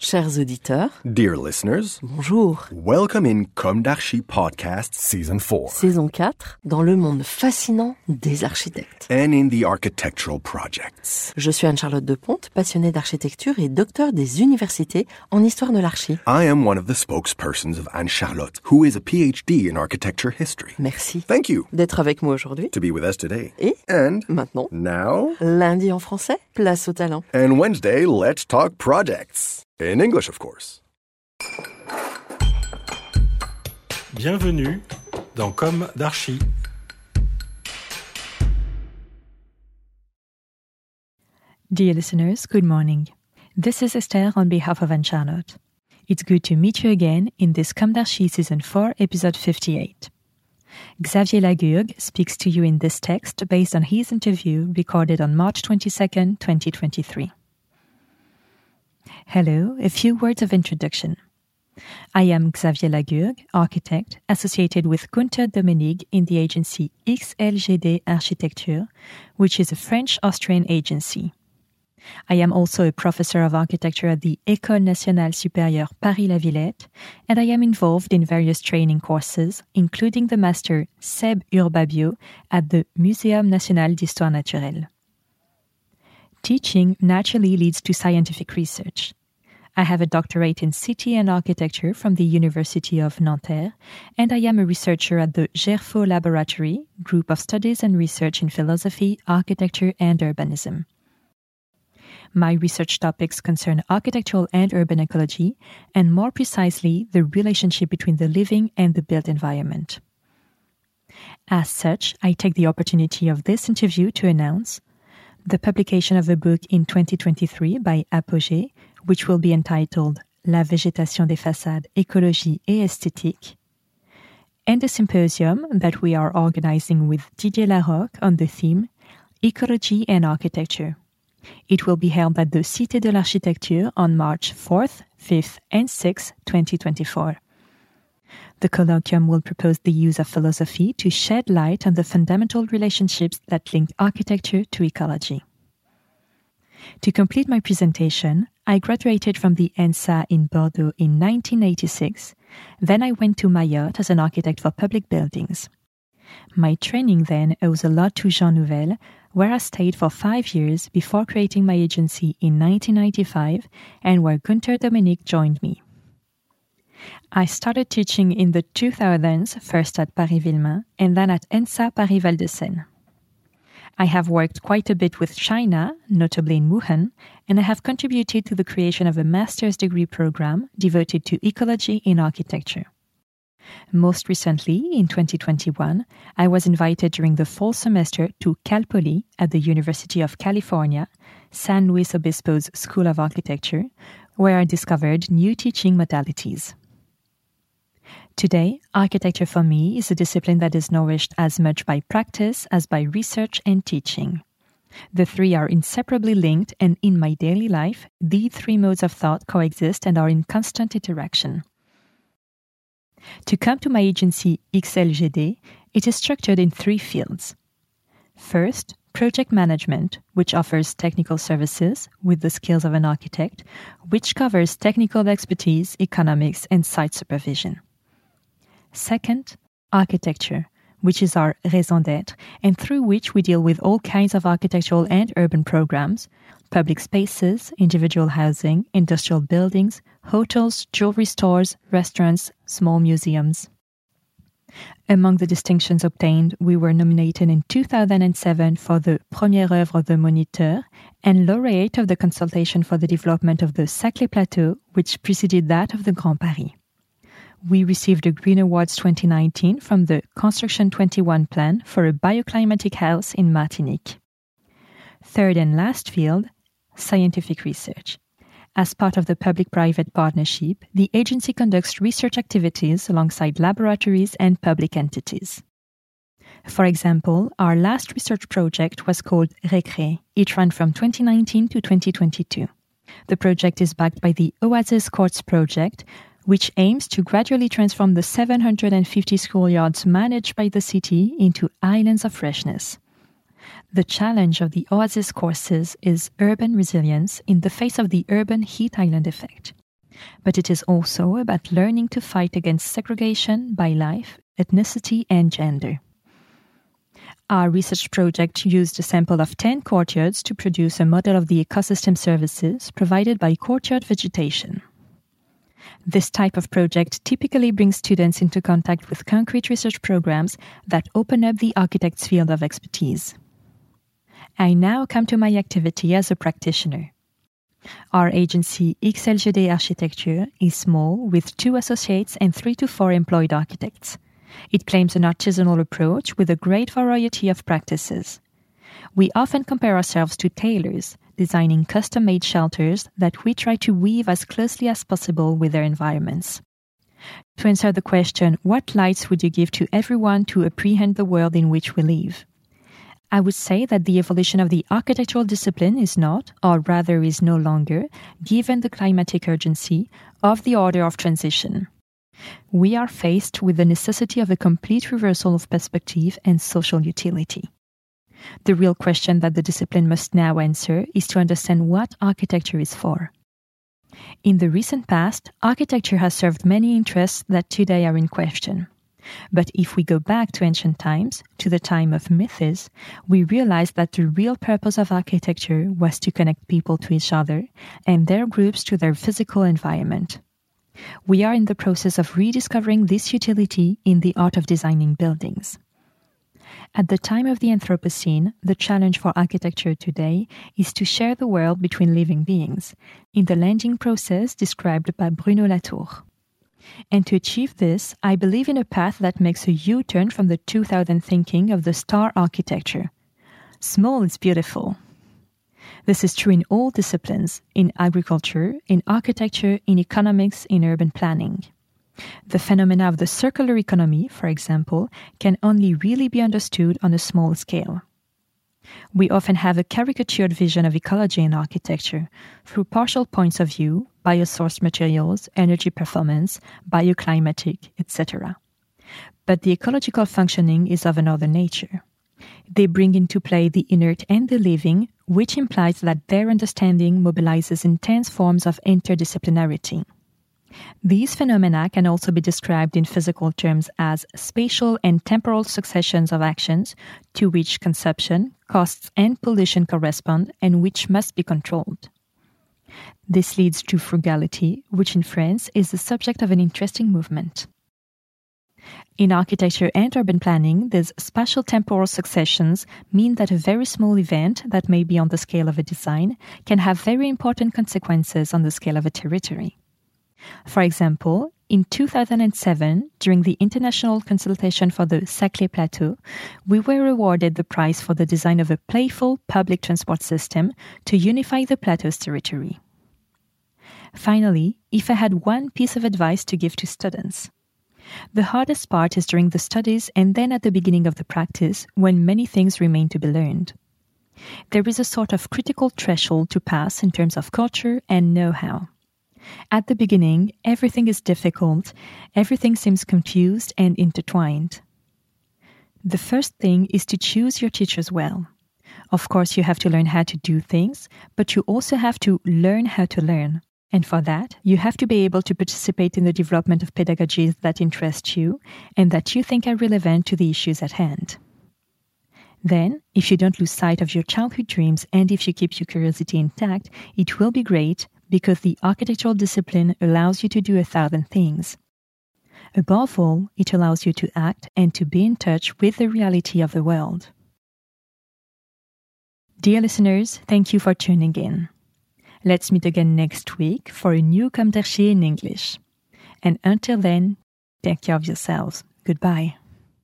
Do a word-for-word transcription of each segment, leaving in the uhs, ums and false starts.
Chers auditeurs, Dear listeners, bonjour. welcome in Comme d'Archi Podcast Season four. Saison quatre, dans le monde fascinant des architectes. And in the architectural projects. Je suis Anne-Charlotte Deponte, passionnée d'architecture et docteur des universités en histoire de l'archi. I am one of the spokespersons of Anne-Charlotte, who is a P H D in architecture history. Merci Thank you d'être avec moi aujourd'hui. to be with us today. Et And maintenant, now, lundi en français, place au talent. and Wednesday, let's talk projects. In English, of course. Bienvenue dans Comme d'Archi. Dear listeners, good morning. This is Esther on behalf of Anne-Charlotte. It's good to meet you again in this Comme d'Archi Season four, Episode fifty-eight. Xavier Lagourgue speaks to you in this text based on his interview recorded on March twenty-second, twenty twenty-three. Hello, a few words of introduction. I am Xavier Lagourgue, architect, associated with Gunther Domenig in the agency X L G D Architecture, which is a French-Austrian agency. I am also a professor of architecture at the École Nationale Supérieure Paris-La Villette, and I am involved in various training courses, including the master S E B Urbabio at the Muséum National d'Histoire Naturelle. Teaching naturally leads to scientific research. I have a doctorate in city and architecture from the University of Nanterre, and I am a researcher at the GERFO Laboratory, Group of Studies and Research in Philosophy, Architecture and Urbanism. My research topics concern architectural and urban ecology, and more precisely, the relationship between the living and the built environment. As such, I take the opportunity of this interview to announce the publication of a book in twenty twenty-three by Apogée, which will be entitled La végétation des façades, écologie et esthétique, and a symposium that we are organizing with Didier Larocque on the theme Ecology and Architecture. It will be held at the Cité de l'Architecture on March fourth, fifth, and sixth, twenty twenty-four. The colloquium will propose the use of philosophy to shed light on the fundamental relationships that link architecture to ecology. To complete my presentation, I graduated from the ENSA in Bordeaux in nineteen eighty-six. Then I went to Mayotte as an architect for public buildings. My training then owes a lot to Jean Nouvel, where I stayed for five years before creating my agency in nineteen ninety-five and where Gunther Domenig joined me. I started teaching in the two thousands, first at Paris-Villemain and then at ENSA Paris-Val de Seine. I have worked quite a bit with China, notably in Wuhan, and I have contributed to the creation of a master's degree program devoted to ecology in architecture. Most recently, in twenty twenty-one, I was invited during the fall semester to Cal Poly at the University of California, San Luis Obispo's School of Architecture, where I discovered new teaching modalities. Today, architecture for me is a discipline that is nourished as much by practice as by research and teaching. The three are inseparably linked, and in my daily life, these three modes of thought coexist and are in constant interaction. To come to my agency X L G D, it is structured in three fields. First, project management, which offers technical services with the skills of an architect, which covers technical expertise, economics, and site supervision. Second, architecture, which is our raison d'être, and through which we deal with all kinds of architectural and urban programs, public spaces, individual housing, industrial buildings, hotels, jewelry stores, restaurants, small museums. Among the distinctions obtained, we were nominated in two thousand seven for the Première œuvre de Moniteur and laureate of the consultation for the development of the Saclay Plateau, which preceded that of the Grand Paris. We received a Green Awards twenty nineteen from the Construction twenty-one plan for a bioclimatic house in Martinique. Third and last field, scientific research. As part of the public-private partnership, the agency conducts research activities alongside laboratories and public entities. For example, our last research project was called Recré. It ran from twenty nineteen to twenty twenty-two. The project is backed by the Oasis Courts project, which aims to gradually transform the seven hundred fifty schoolyards managed by the city into islands of freshness. The challenge of the Oasis courses is urban resilience in the face of the urban heat island effect. But it is also about learning to fight against segregation by life, ethnicity, and gender. Our research project used a sample of ten courtyards to produce a model of the ecosystem services provided by courtyard vegetation. This type of project typically brings students into contact with concrete research programs that open up the architect's field of expertise. I now come to my activity as a practitioner. Our agency X L G D Architecture is small, with two associates and three to four employed architects. It claims an artisanal approach with a great variety of practices. We often compare ourselves to tailors, designing custom-made shelters that we try to weave as closely as possible with their environments. To answer the question, what lights would you give to everyone to apprehend the world in which we live? I would say that the evolution of the architectural discipline is not, or rather is no longer, given the climatic urgency, of the order of transition. We are faced with the necessity of a complete reversal of perspective and social utility. The real question that the discipline must now answer is to understand what architecture is for. In the recent past, architecture has served many interests that today are in question. But if we go back to ancient times, to the time of myths, we realize that the real purpose of architecture was to connect people to each other and their groups to their physical environment. We are in the process of rediscovering this utility in the art of designing buildings. At the time of the Anthropocene, the challenge for architecture today is to share the world between living beings, in the landing process described by Bruno Latour. And to achieve this, I believe in a path that makes a U-turn from the two thousand thinking of the star architecture. Small is beautiful. This is true in all disciplines, in agriculture, in architecture, in economics, in urban planning. The phenomena of the circular economy, for example, can only really be understood on a small scale. We often have a caricatured vision of ecology in architecture, through partial points of view, biosourced materials, energy performance, bioclimatic, et cetera. But the ecological functioning is of another nature. They bring into play the inert and the living, which implies that their understanding mobilizes intense forms of interdisciplinarity. These phenomena can also be described in physical terms as spatial and temporal successions of actions to which consumption, costs, and pollution correspond and which must be controlled. This leads to frugality, which in France is the subject of an interesting movement. In architecture and urban planning, these spatial-temporal successions mean that a very small event that may be on the scale of a design can have very important consequences on the scale of a territory. For example, in two thousand seven, during the international consultation for the Saclay Plateau, we were awarded the prize for the design of a playful public transport system to unify the plateau's territory. Finally, if I had one piece of advice to give to students, the hardest part is during the studies and then at the beginning of the practice, when many things remain to be learned. There is a sort of critical threshold to pass in terms of culture and know-how. At the beginning, everything is difficult, everything seems confused and intertwined. The first thing is to choose your teachers well. Of course, you have to learn how to do things, but you also have to learn how to learn. And for that, you have to be able to participate in the development of pedagogies that interest you and that you think are relevant to the issues at hand. Then, if you don't lose sight of your childhood dreams and if you keep your curiosity intact, it will be great because the architectural discipline allows you to do a thousand things. Above all, it allows you to act and to be in touch with the reality of the world. Dear listeners, thank you for tuning in. Let's meet again next week for a new Comme d'Archi in English. And until then, take care of yourselves. Goodbye.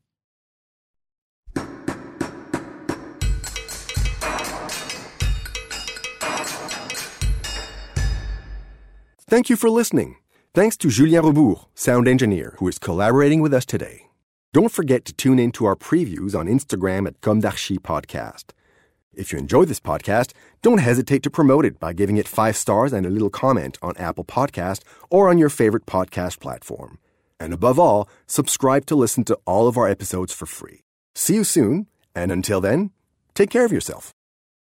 Thank you for listening. Thanks to Julien Rebourg, sound engineer, who is collaborating with us today. Don't forget to tune in to our previews on Instagram at Comme d'Archi Podcast. If you enjoy this podcast, don't hesitate to promote it by giving it five stars and a little comment on Apple Podcast or on your favorite podcast platform. And above all, subscribe to listen to all of our episodes for free. See you soon, and until then, take care of yourself.